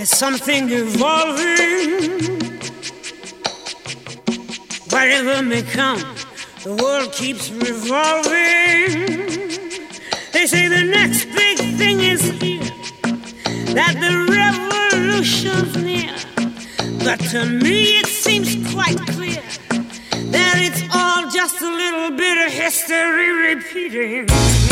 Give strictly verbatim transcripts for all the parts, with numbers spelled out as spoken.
There's something evolving. Whatever may come, the world keeps revolving. They say the next big thing is here, that the revolution's near. But to me it seems quite clear that it's all just a little bit of history repeating.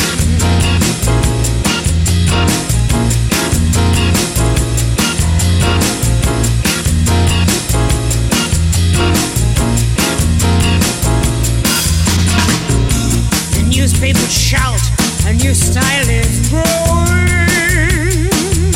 Newspapers shout, a new style is growing,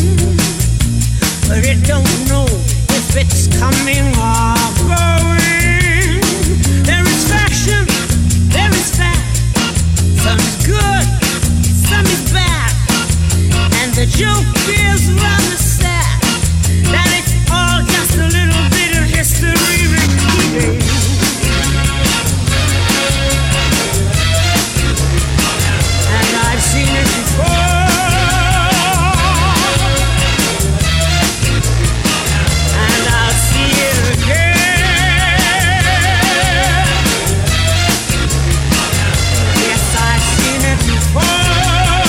but it don't know if it's coming or going. There is fashion, there is fact, some is good, some is bad, and the joke is rather sad, that it's all just a little bit of history repeating. I've seen it before, and I'll see it again. Yes, I've seen it before.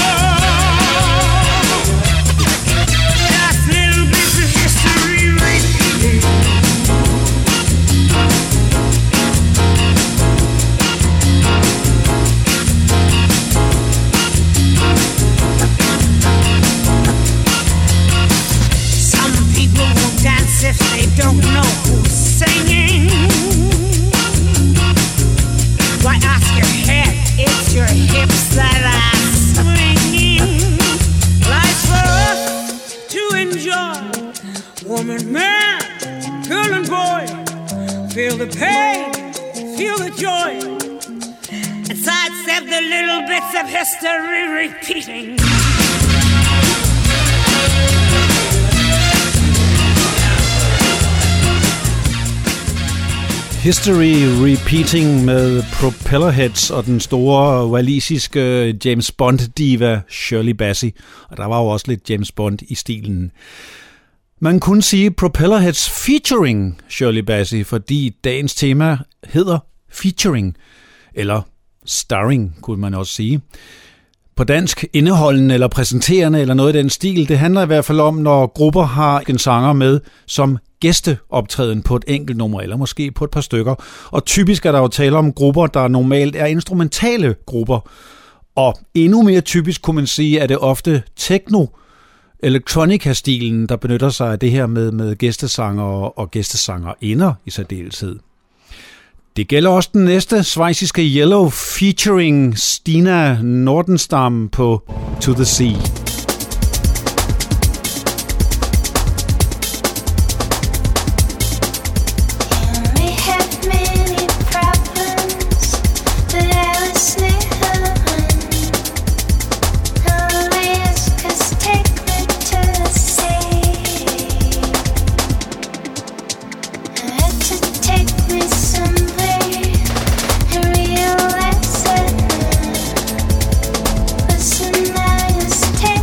Just little bits of history repeating. If they don't know who's singing, why ask your head, it's your hips that are swinging. Life's for us to enjoy, woman, man, girl and boy. Feel the pain, feel the joy, and sidestep the little bits of history repeating. History Repeating med Propellerheads og den store walisiske James Bond-diva Shirley Bassey. Og der var jo også lidt James Bond i stilen. Man kunne sige Propellerheads featuring Shirley Bassey, fordi dagens tema hedder featuring, eller starring, kunne man også sige. På dansk indeholdende eller præsenterende eller noget i den stil. Det handler i hvert fald om, når grupper har en sanger med som gæsteoptræden på et enkelt nummer, eller måske på et par stykker. Og typisk er der jo tale om grupper, der normalt er instrumentale grupper. Og endnu mere typisk kunne man sige, at det ofte techno, electronica-stilen, der benytter sig af det her med, med gæstesanger og gæstesangerinder i særdeleshed. Det gælder også den næste schweiziske Yellow featuring Stina Nordenstam på To The Sea. Take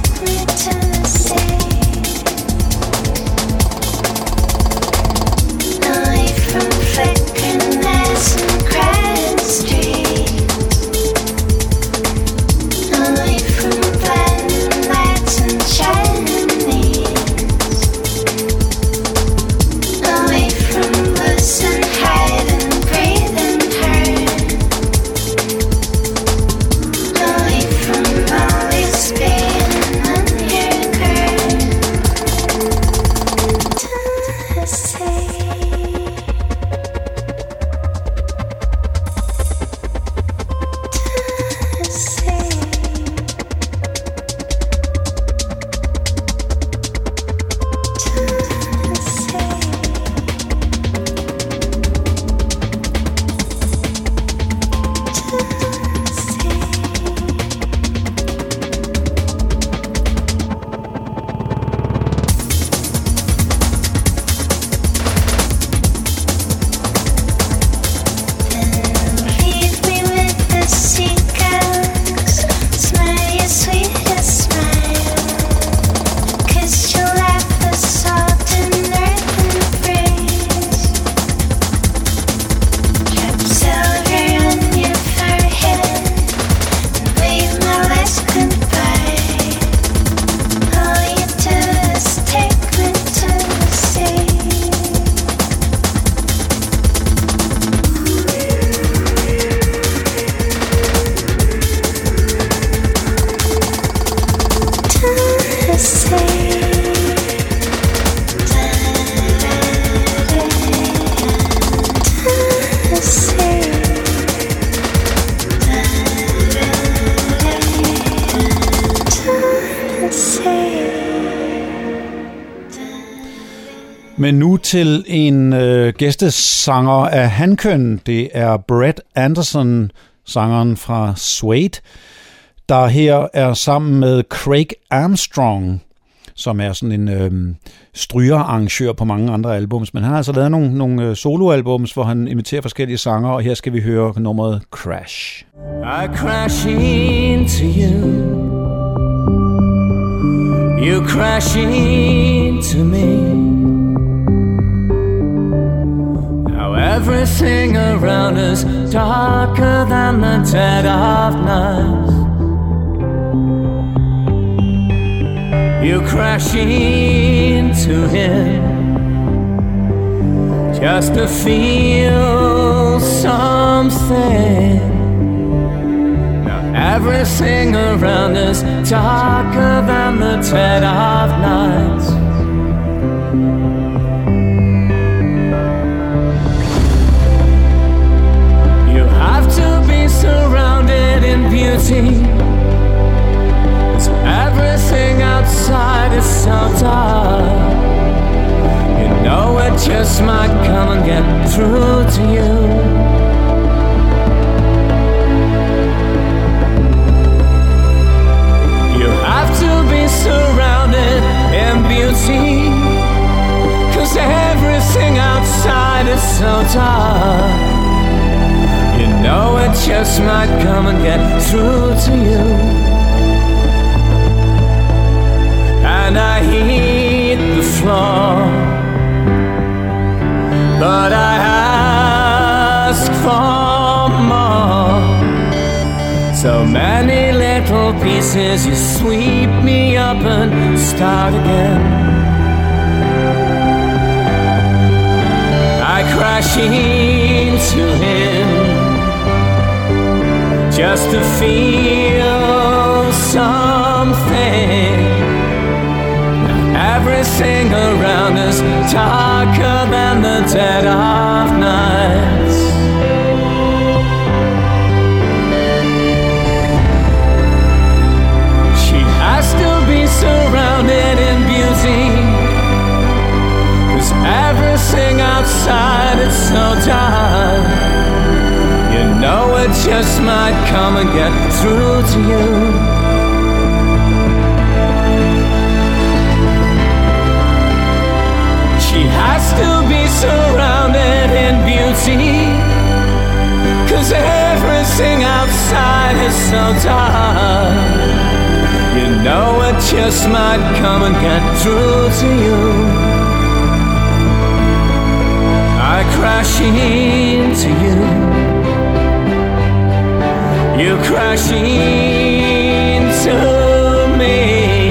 Men nu til en øh, gæstesanger af hankøn. Det er Brett Anderson, sangeren fra Suede, der her er sammen med Craig Armstrong, som er sådan en øh, strygerarrangør på mange andre albums. Men han har altså lavet nogle, nogle soloalbums, hvor han imiterer forskellige sanger, og her skal vi høre nummeret Crash. I crash into you, you crash into me. Now everything around us darker than the dead of night. You crash into him just to feel something. Now everything around us darker than the dead of night. You have to be surrounded in beauty. Everything outside is so dark. You know it just might come and get through to you. You have to be surrounded in beauty, 'cause everything outside is so dark. You know it just might come and get through to you. And I hit the floor, but I ask for more. So many little pieces, you sweep me up and start again. I crash into him just to feel something. Everything around us darker than the dead of night. She has to be surrounded in beauty, 'cause everything outside is so dark. You know it just might come and get through to you. She has to be surrounded in beauty, 'cause everything outside is so dark. You know it just might come and get through to you. I crash into you, you crash into me.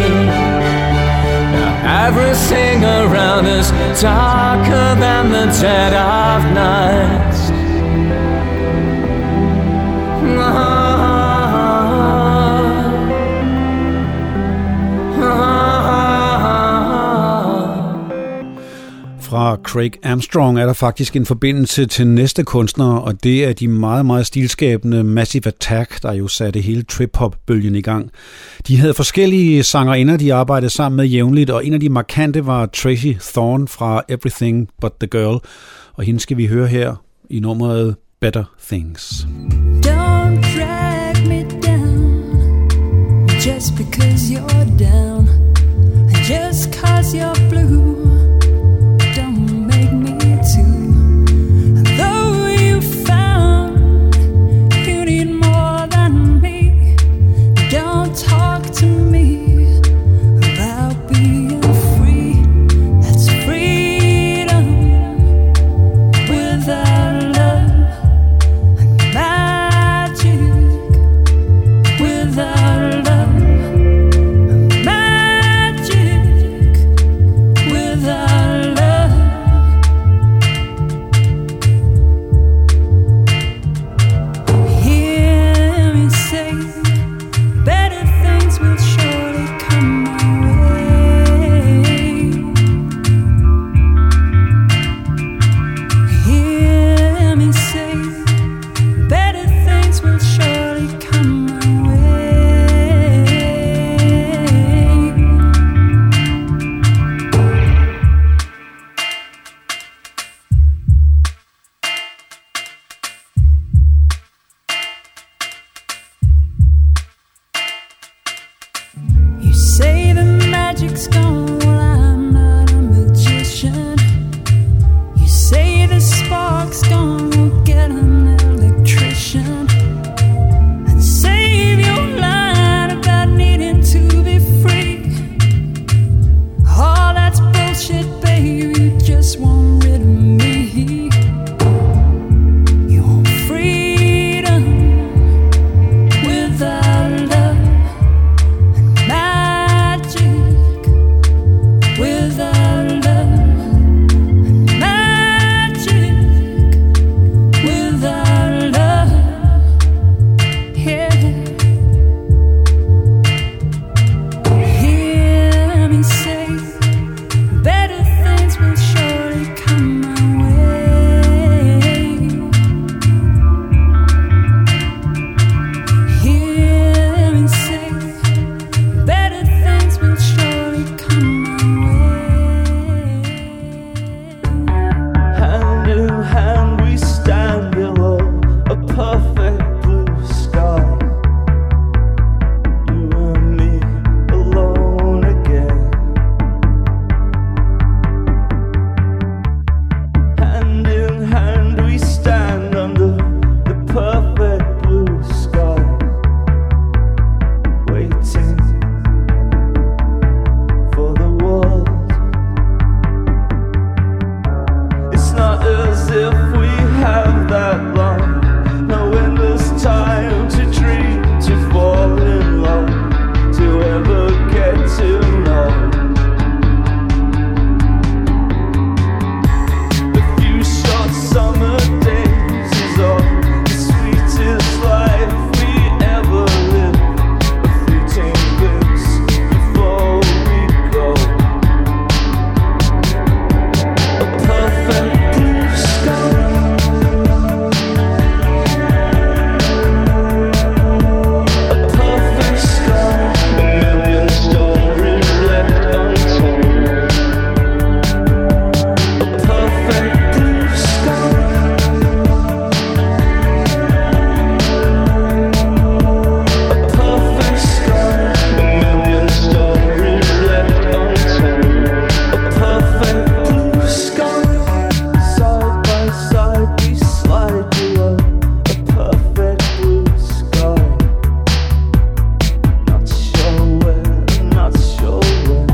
Everything around us darker than the dead of night. Fra Craig Armstrong er der faktisk en forbindelse til næste kunstner, og det er de meget, meget stilskabende Massive Attack, der jo satte hele trip-hop-bølgen i gang. De havde forskellige sangerinder, de arbejdede sammen med jævnligt, og en af de markante var Tracy Thorn fra Everything But The Girl, og hende skal vi høre her i nummeret Better Things. Don't drag me down just because you're down, and just 'cause you're blue. spark's gone, well, I'm not a magician. You say the spark's gone, we'll get an electrician and save your line about needing to be free. All that's bullshit, baby, you just want rid of me. You want freedom without love, and magic without love, and magic without love. Yeah. Hear me say, better things will surely come my way. Hear me say, better things will surely come my way. Hand in hand we stand below a perfect blue sky. You and me alone again. Hand in hand we stand under the perfect blue sky, waiting for the world. It's not as if we have that long, no endless time to dream, to fall in love, to ever get to know. A few short summer days is all the sweetest life we ever lived. A fleeting glimpse before we go. A perfect blue sky. A perfect sky. A million stories left untold. A perfect blue sky. A perfect sky. A million stories left untold. A perfect blue sky. Side by side we slide below a perfect blue sky. Not sure where, not sure when.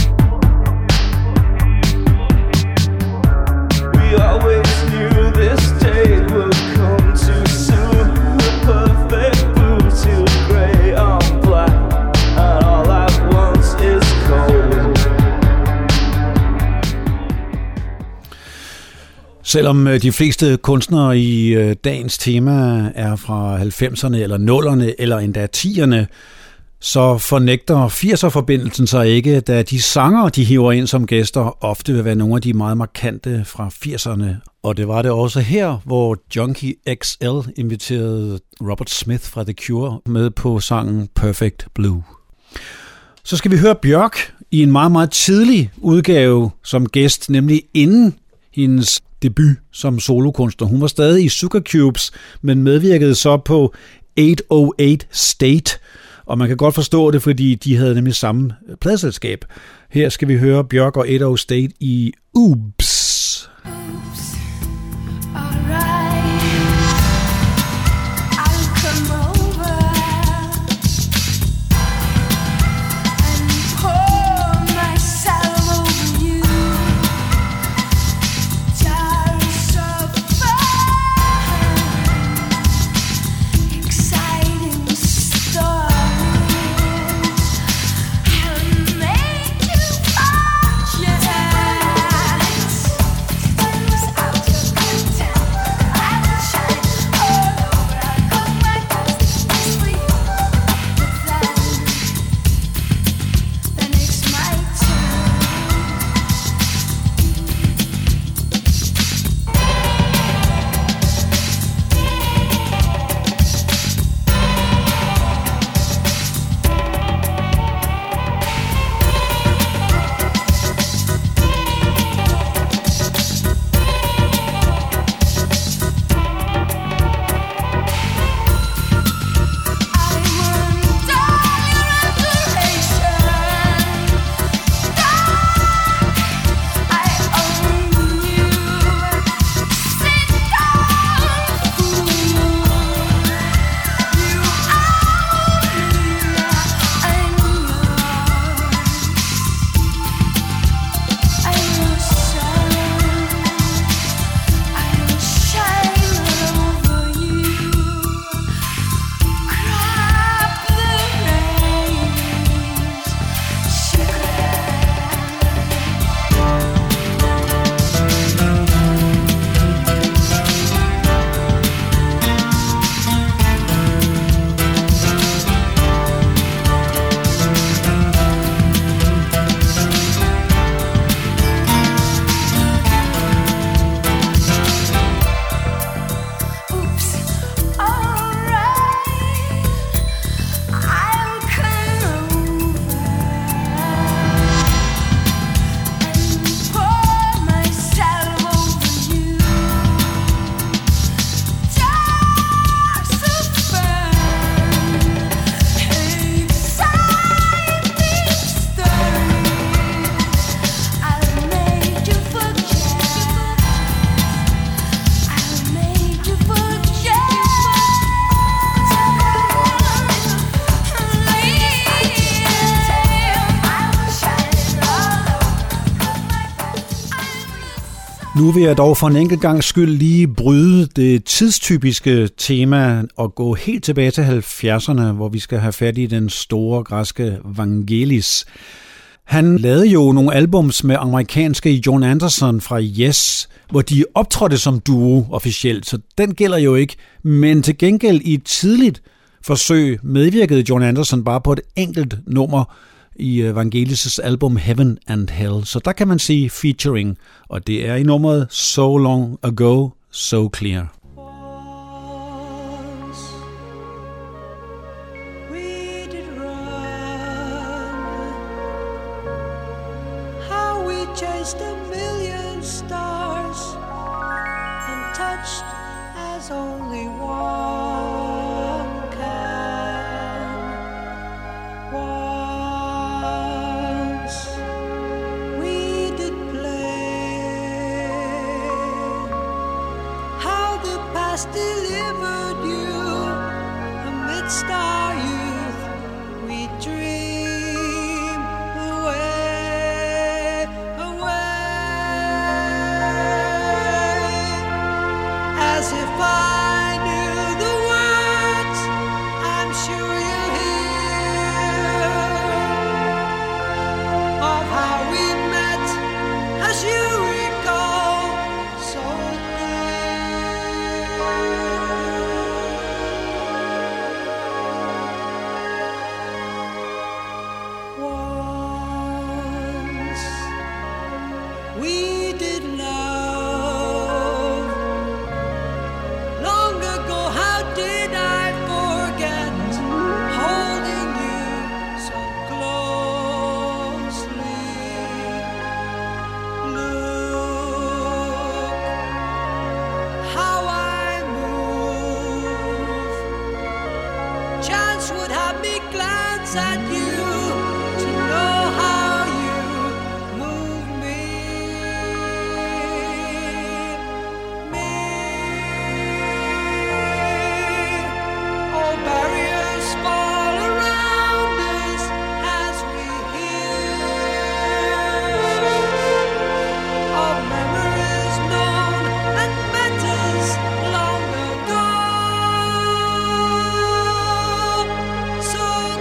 We always knew this day would come too soon. The perfect blue to grey on black, and all at once is cold. Selvom øh, de fleste kunstnere i øh, dagens tema er fra halvfemserne eller nullerne eller endda tierne, så fornægter firser-forbindelsen sig ikke, da de sanger, de hiver ind som gæster, ofte vil være nogle af de meget markante fra firserne. Og det var det også her, hvor Junkie X L inviterede Robert Smith fra The Cure med på sangen Perfect Blue. Så skal vi høre Bjørk i en meget, meget tidlig udgave som gæst, nemlig inden hendes debut som solokunstner. Hun var stadig i Sugar Cubes, men medvirkede så på otte nul otte State, og man kan godt forstå det, fordi de havde nemlig samme pladeselskab. Her skal vi høre Bjørk og otte nul otte State i Oops. Yeah. Nu vil jeg dog for en enkelt gang skyld lige bryde det tidstypiske tema og gå helt tilbage til halvfjerdserne, hvor vi skal have fat i den store græske Vangelis. Han lavede jo nogle albums med amerikanske Jon Anderson fra Yes, hvor de optrådte som duo officielt, så den gælder jo ikke. Men til gengæld i et tidligt forsøg medvirkede Jon Anderson bare på et enkelt nummer i Vangelis' album Heaven and Hell. Så der kan man sige featuring, og det er i nummeret So Long Ago, So Clear. Chased a million stars and touched as only one can. Once we did play how the past delivered you amidst our youth. We dream away. As if I knew the words, I'm sure you'll hear of how we met, as you recall, so once we did love. At you to know how you move me, me. All barriers fall around us as we hear of memories known and matters long ago. So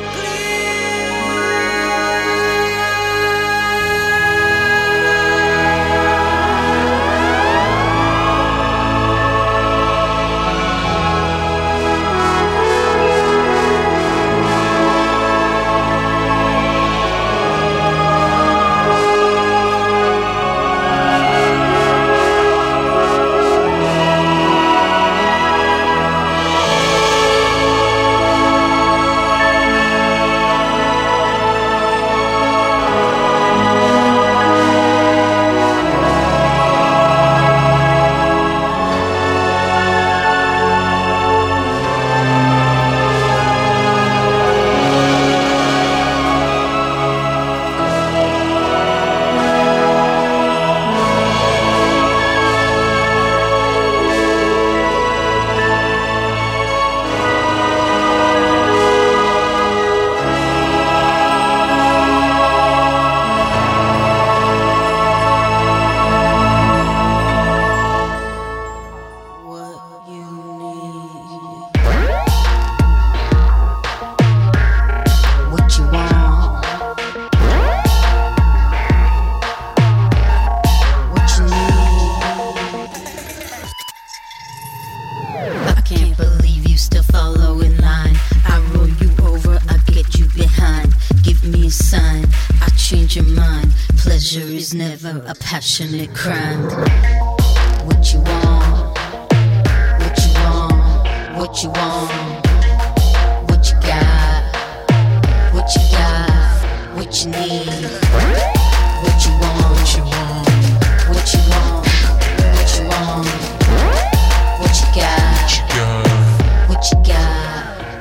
never a passionate crime. What you want? What you want? What you want? What you got? What you got? What you need? What you want? What you want? What you want? What you want? What you got? What you got?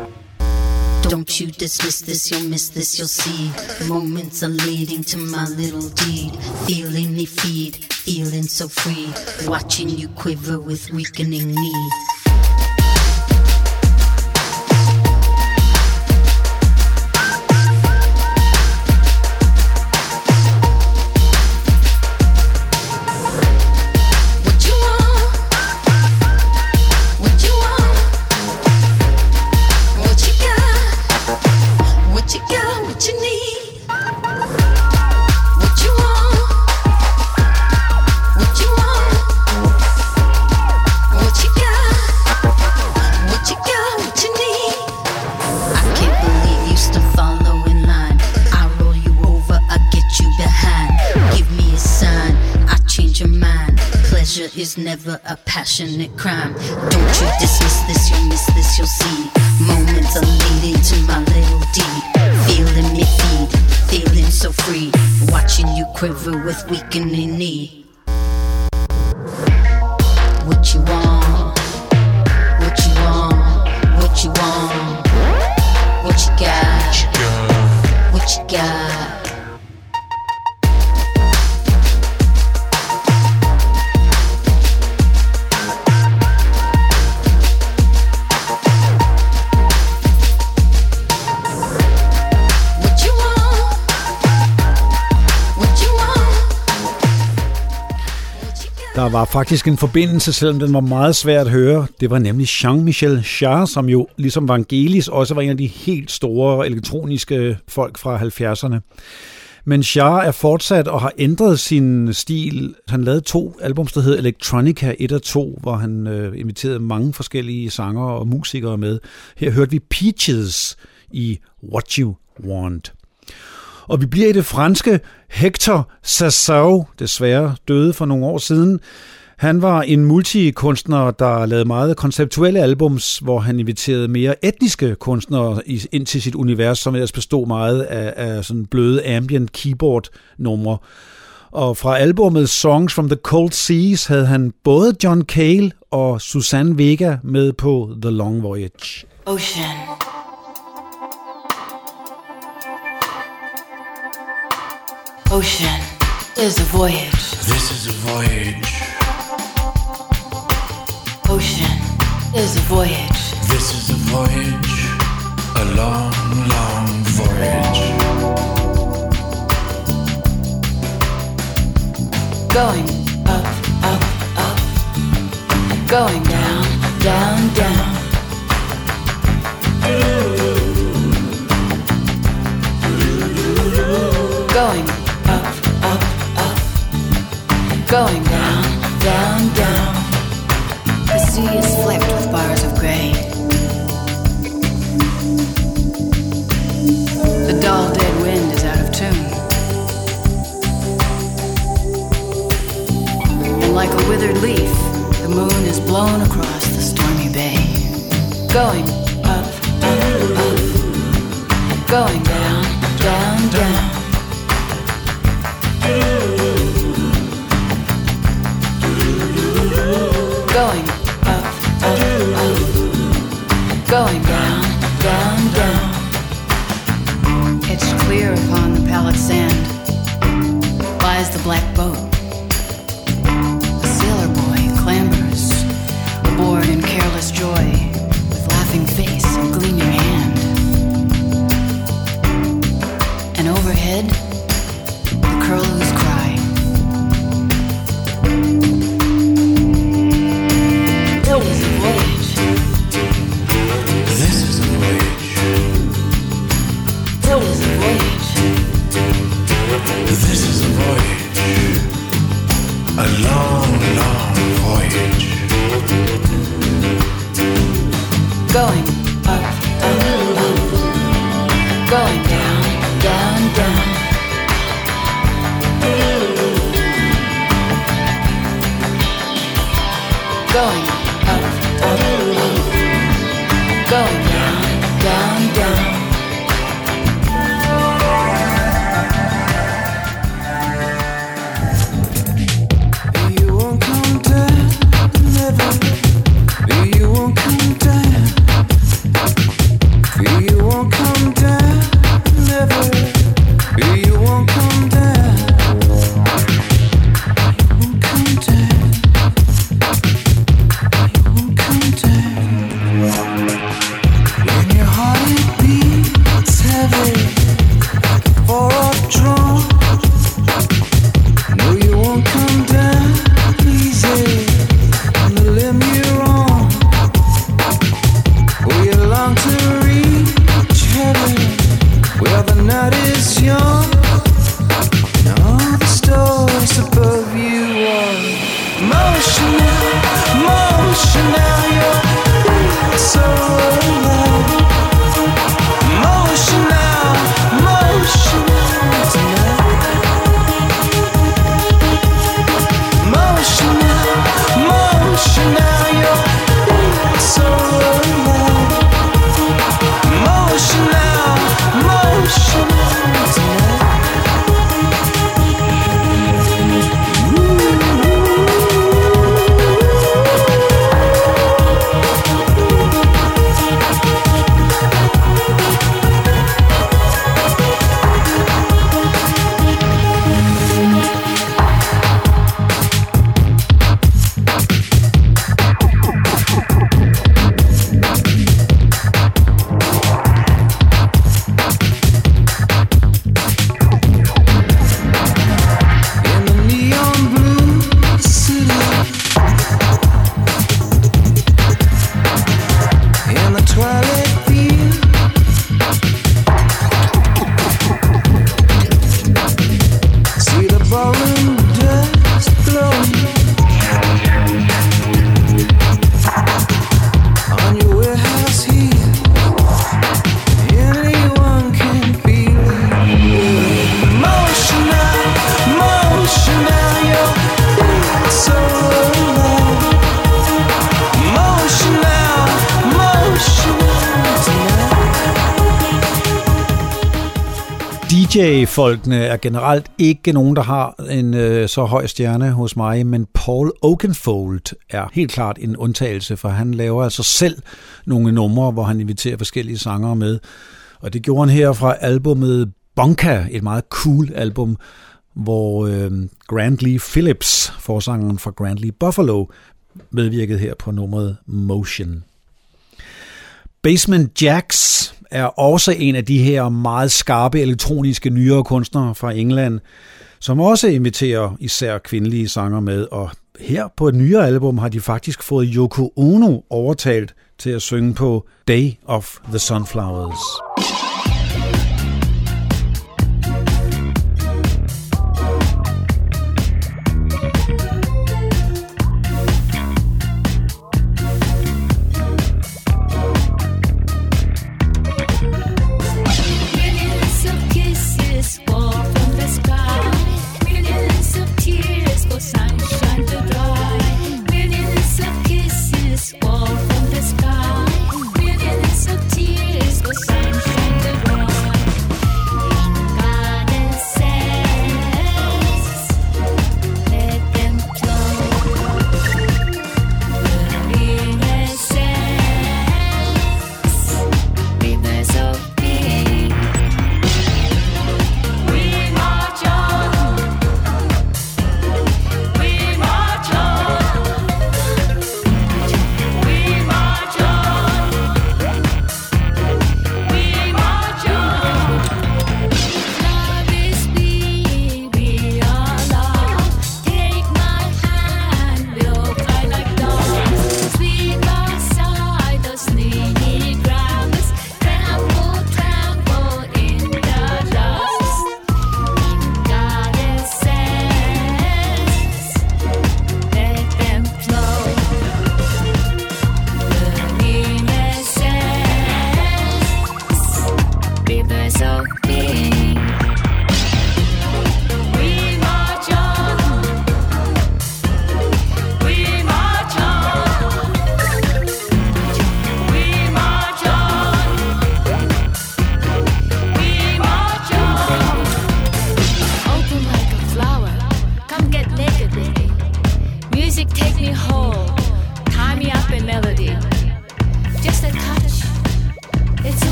Don't you dismiss this, you'll miss this, you'll see. Moments are leading to my little deed. Feeling me feed, feeling so free. Watching you quiver with weakening need. is never a passionate crime. Don't you dismiss this, you'll miss this, you'll see. Moments are leading to my little deed. Feeling me feed, feeling so free. Watching you quiver with weakening knee. What you want? What you want? What you want? What you got? What you got? Der var faktisk en forbindelse, selvom den var meget svær at høre. Det var nemlig Jean-Michel Jarre, som jo ligesom Vangelis også var en af de helt store elektroniske folk fra halvfjerdserne. Men Jarre er fortsat og har ændret sin stil. Han lavede to albums, der hed Electronica et og to, hvor han øh, inviterede mange forskellige sangere og musikere med. Her hørte vi Peaches i What You Want. Og vi bliver i det franske. Hector Sassou, desværre døde for nogle år siden. Han var en multikunstner, der lavede meget konceptuelle albums, hvor han inviterede mere etniske kunstnere ind til sit univers, som ellers bestod meget af, af sådan bløde ambient keyboard-numre. Og fra albumet Songs from the Cold Seas havde han både John Cale og Suzanne Vega med på The Long Voyage. Ocean. Ocean is a voyage. This is a voyage. Ocean is a voyage. This is a voyage. A long, long voyage. Going up, up, up. Going down, down, down. Going up, up, up. Going down, down, down. The sea is flecked with bars of gray. The dull dead wind is out of tune. And like a withered leaf, the moon is blown across the stormy bay. Going up, up, up. Going down, down, down. Going up, up, up. Going down, down, down. It's clear upon the pallid sand lies the black boat. A sailor boy clambers aboard in careless joy, with laughing face and gleaming hand. And overhead, the curlews cry. It is a voyage. This is a voyage. It is a voyage. This is a voyage. A long, long voyage. Going up, up, up. Going down, down, down. Going up, up, up. Going down, down, down. You won't come down, never. You won't come down. You won't come down, never. You won't come down. You won't come down. You won't come down. When your heart it beats heavy for a drum. No, you won't come down easy on the limb you're on. Oh, you long to reach heaven where the night is young. And all the stars above you are motion now, motion now. Your feet so alive. Motion now, motion now tonight. Motion now, D J-folkene er generelt ikke nogen, der har en øh, så høj stjerne hos mig, men Paul Oakenfold er helt klart en undtagelse, for han laver altså selv nogle numre, hvor han inviterer forskellige sangere med. Og det gjorde han her fra albumet Bonka, et meget cool album, hvor øh, Grant Lee Phillips, forsangeren fra Grant Lee Buffalo, medvirkede her på nummeret Motion. Basement Jaxx er også en af de her meget skarpe elektroniske nyere kunstnere fra England, som også inviterer især kvindelige sanger med, og her på et nyere album har de faktisk fået Yoko Ono overtalt til at synge på Day of the Sunflowers.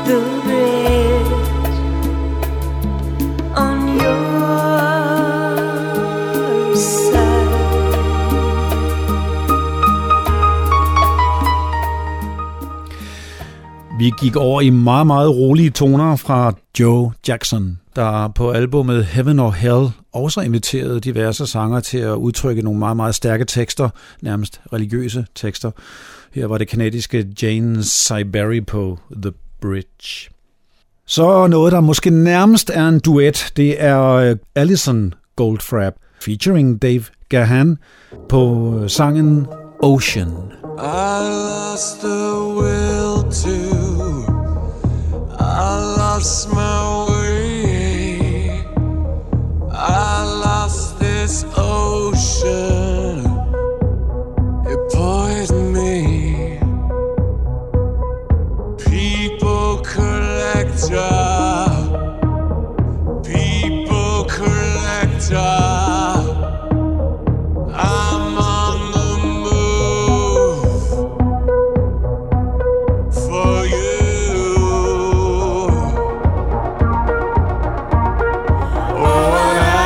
the bridge on your side. Vi gik over i meget, meget rolige toner fra Joe Jackson, der på albumet Heaven or Hell også inviterede diverse sanger til at udtrykke nogle meget, meget stærke tekster, nærmest religiøse tekster. Her var det kanadiske Jane Siberry på The Bridge. Så noget, der måske nærmest er en duet, det er Alison Goldfrapp featuring Dave Gahan på sangen Ocean. I lost the will to, I lost my way, I lost this ocean, it poisoned me. People collector, people collector, I'm on the move for you. Oh,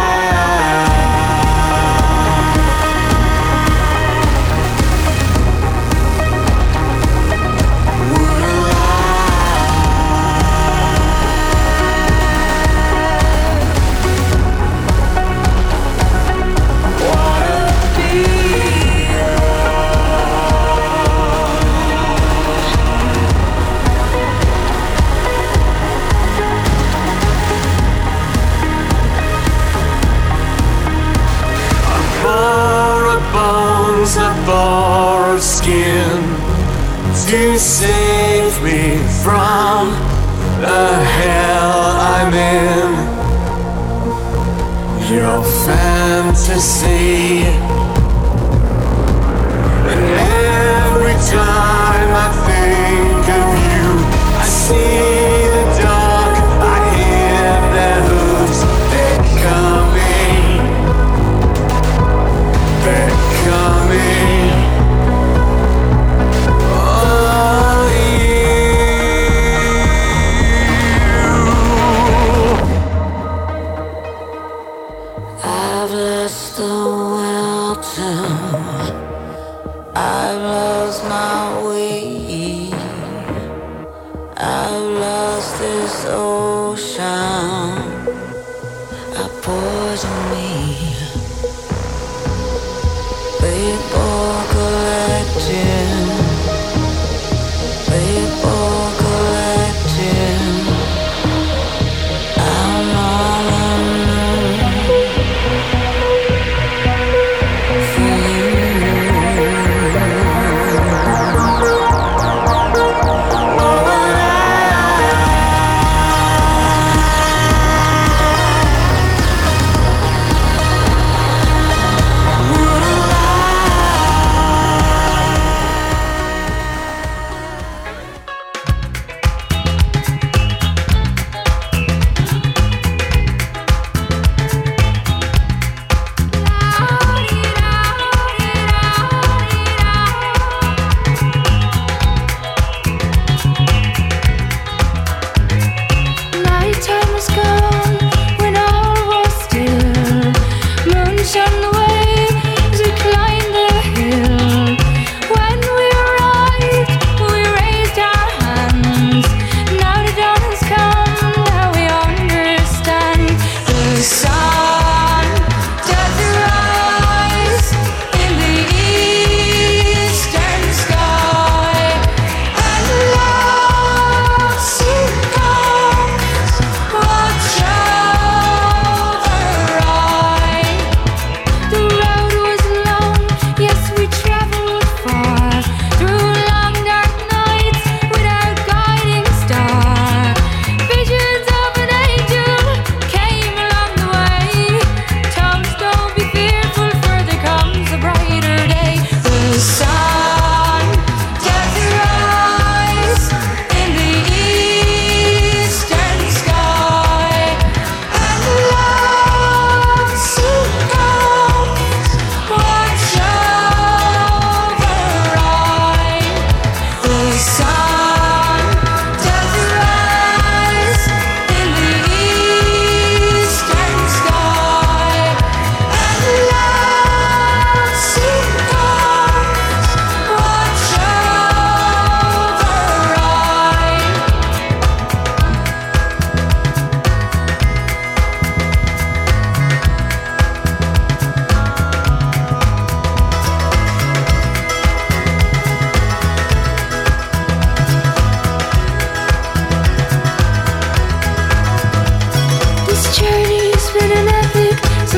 a borrowed skin to save me from the hell I'm in. Your fantasy, and every time I think of you, I see the dark, I hear their hooves, they're coming, they're coming. Oh, you. I've lost the will to, I've lost my way, I've lost this ocean, I poison me. People collecting, people collecting, I'm on the move for you. Oh, I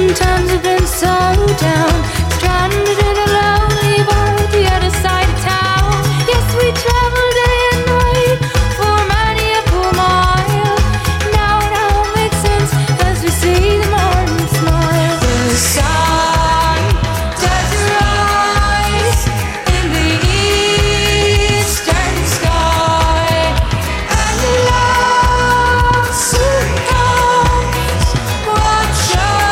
Sometimes I've been so down, stranded in a lonely bar at the other side of town. Yes, we travel day and night for many a poor mile. Now it all makes sense as we see the morning smile. The sun does rise in the eastern sky, and love soon comes. Watch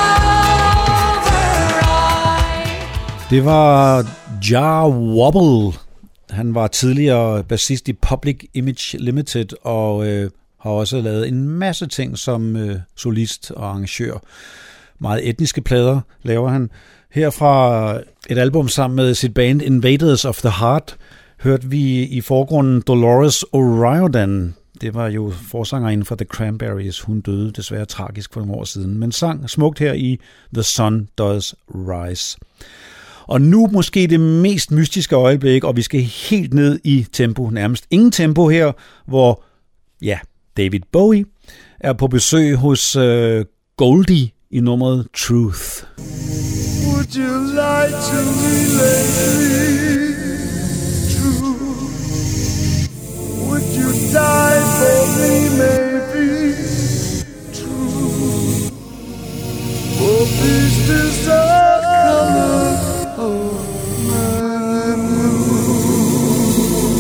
over I. Det var Jah Wobble. Han var tidligere bassist i Public Image Limited og øh, har også lavet en masse ting som øh, solist og arrangør. Meget etniske plader laver han. Her fra et album sammen med sit band Invaders of the Heart hørte vi i forgrunden Dolores O'Riordan. Det var jo forsangerinden for The Cranberries. Hun døde desværre tragisk for nogle år siden, men sang smukt her i The Sun Does Rise. Og nu måske det mest mystiske øjeblik, og vi skal helt ned i tempo, nærmest ingen tempo her, hvor ja, David Bowie er på besøg hos uh, Goldie i nummeret Truth. Would you lie to me lately? True. Would you die for me, maybe? True. For this is the color of my mood.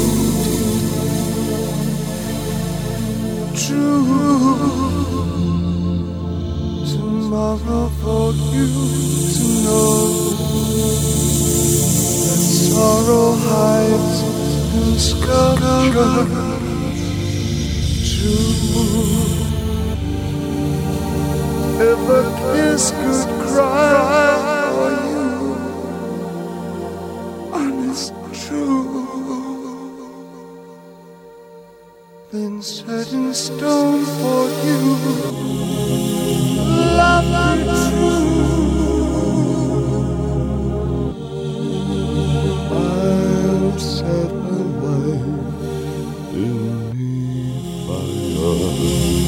True. Tomorrow for you to know that sorrow hides in sculpture. True. If a kiss could cry for you, honest true, then set in stone for you, love me true. I'll set my life beneath fire.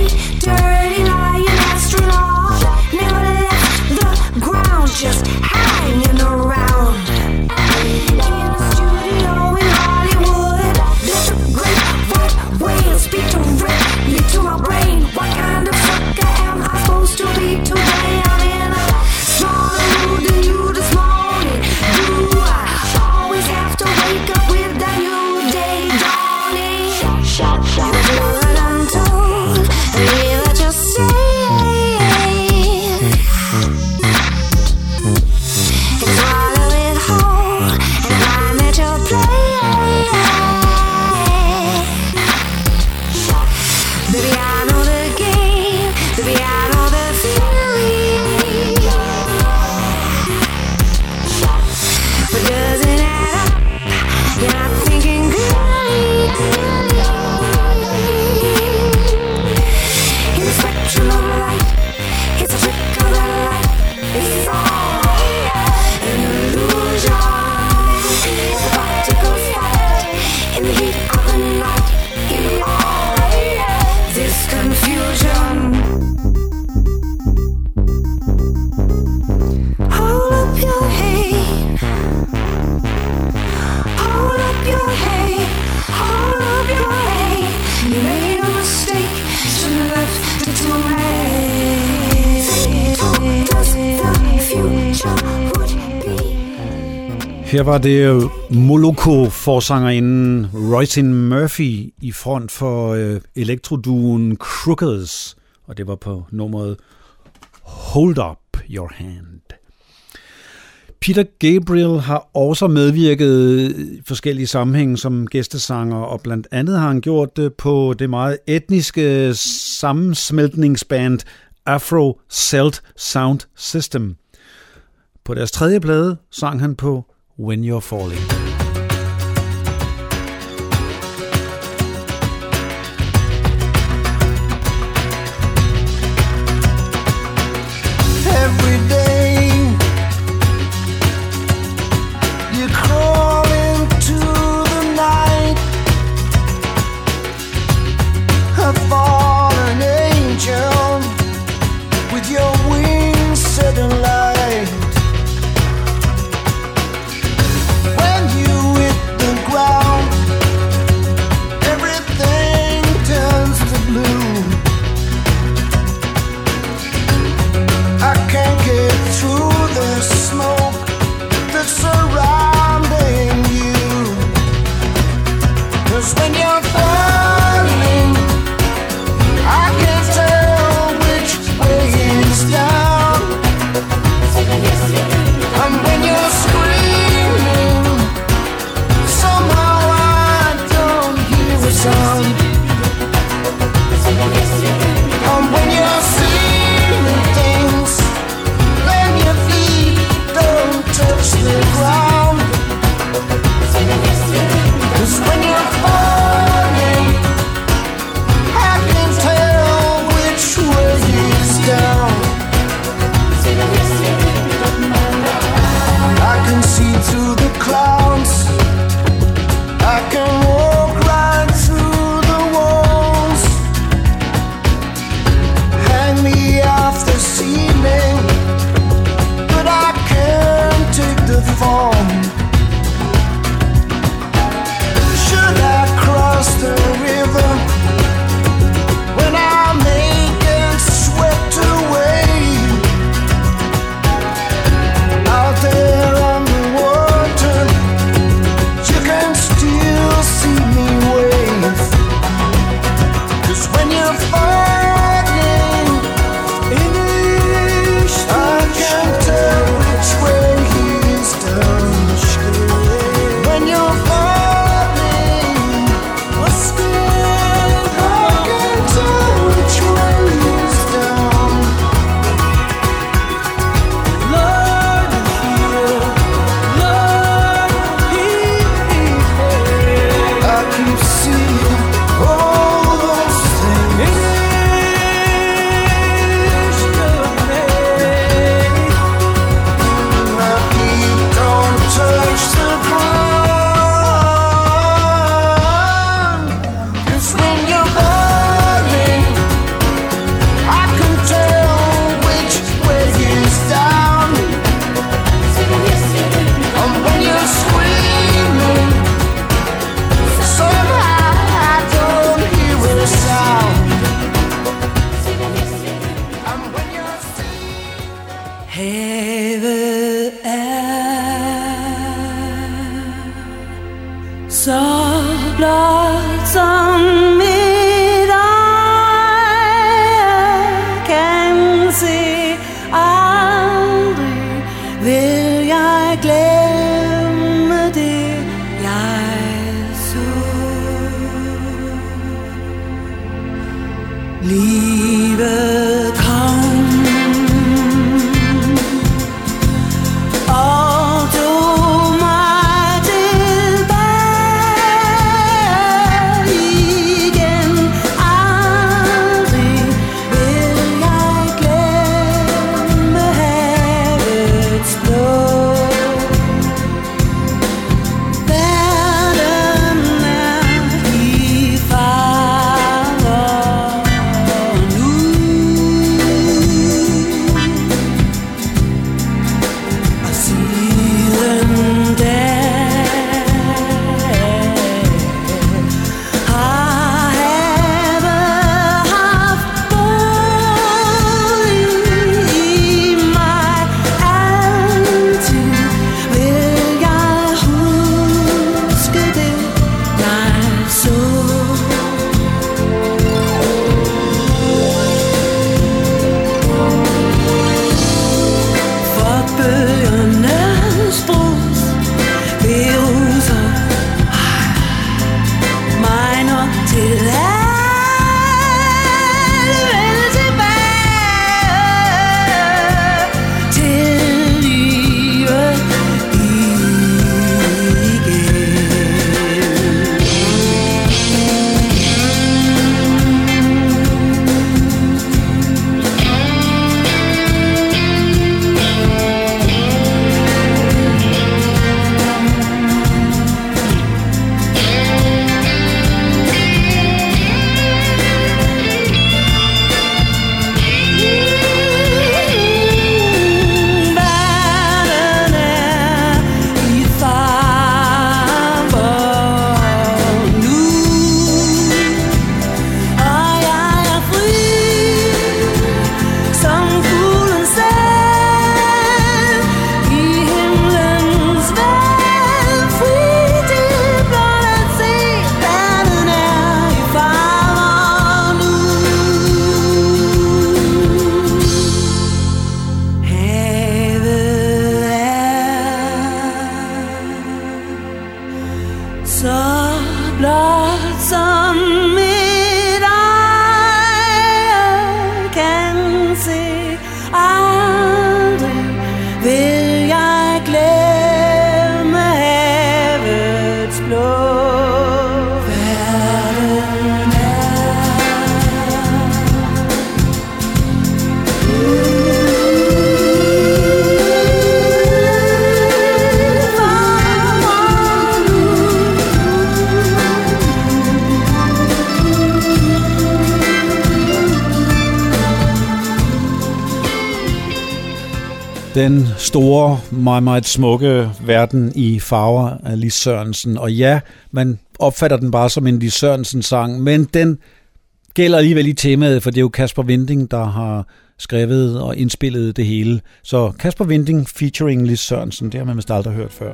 Just how Her var det Moloko-forsangerinden Roisin Murphy i front for øh, elektroduen Crookers, og det var på nummeret Hold Up Your Hand. Peter Gabriel har også medvirket i forskellige sammenhænge som gæstesanger, og blandt andet har han gjort det på det meget etniske sammensmeltningsband Afro Celt Sound System. På deres tredje plade sang han på When You're Falling. Every day you crawl into the night, a fallen angel with your wings set alight. When you hit the ground, everything turns to blue. I can't get through the smoke that's surrounding you. 'Cause when you're falling, I can't tell which way is down. And when you're screaming, somehow I don't hear a sound. And when you're seeing things, then your feet don't touch the ground. 'Cause when you're falling, I can tell which way is down. I can see through the clouds, I can walk right through the walls. Hang me off the ceiling, but I can't take the fall. Should I cross the river when I make it swept away? Out there on the water, you can still see me wave. 'Cause when you're falling, I can't tell which way is down. When you're falling, I can't tell which way is down. Lord, heal, Lord, heal. I keep seeing all those things. My feet don't touch the ground. 'Cause when you're falling, I can tell which way is down. And when you're screaming, somehow I don't hear a sound. And when you're Havet er så blot som mit øje kan se. Aldrig vil jeg glemme det, jeg så. Livet kom og tog mig tilbage igen. Aldrig vil jeg glemme havets blå. Verden er i fare nu. Den store, meget, meget smukke verden i farver af Lis Sørensen. Og ja, man opfatter den bare som en Lis Sørensen-sang, men den gælder alligevel i temaet, for det er jo Kasper Winding, der har skrevet og indspillet det hele. Så Kasper Winding featuring Lis Sørensen, det har man vist aldrig hørt før.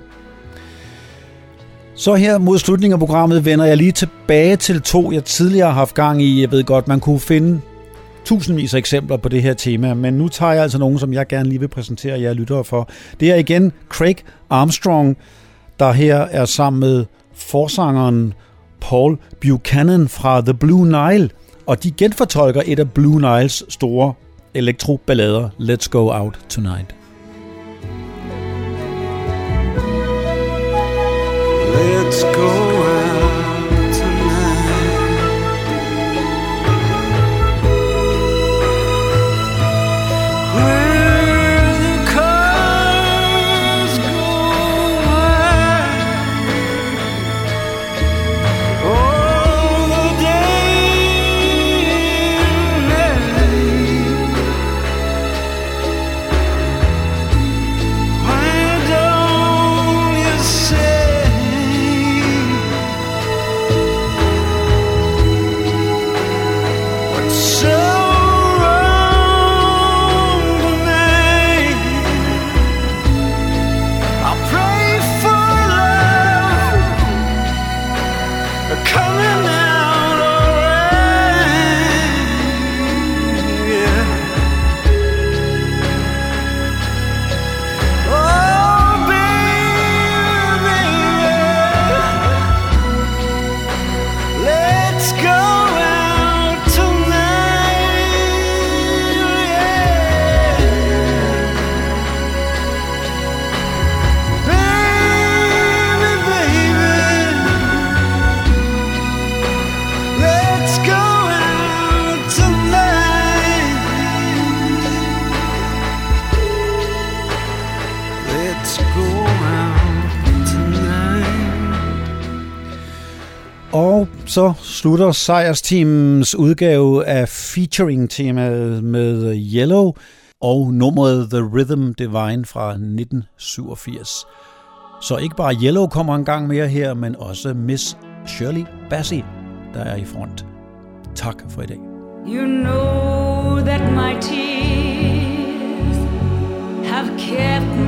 Så her mod slutningen af programmet vender jeg lige tilbage til to, jeg tidligere har haft gang i. Jeg ved godt, man kunne finde tusindvis af eksempler på det her tema, men nu tager jeg altså nogle, som jeg gerne lige vil præsentere jer lyttere for. Det er igen Craig Armstrong, der her er sammen med forsangeren Paul Buchanan fra The Blue Nile, og de genfortolker et af Blue Niles store elektroballader, Let's Go Out Tonight. Let's go out tonight. Where the cars go by, all the day and night. Why don't you say Og så slutter sejrsteamens udgave af featuring-temaet med Yellow og nummeret The Rhythm Divine fra nitten syvogfirs. Så ikke bare Yellow kommer en gang mere her, men også Miss Shirley Bassey, der er i front. Tak for i dag. You know that my tears have kept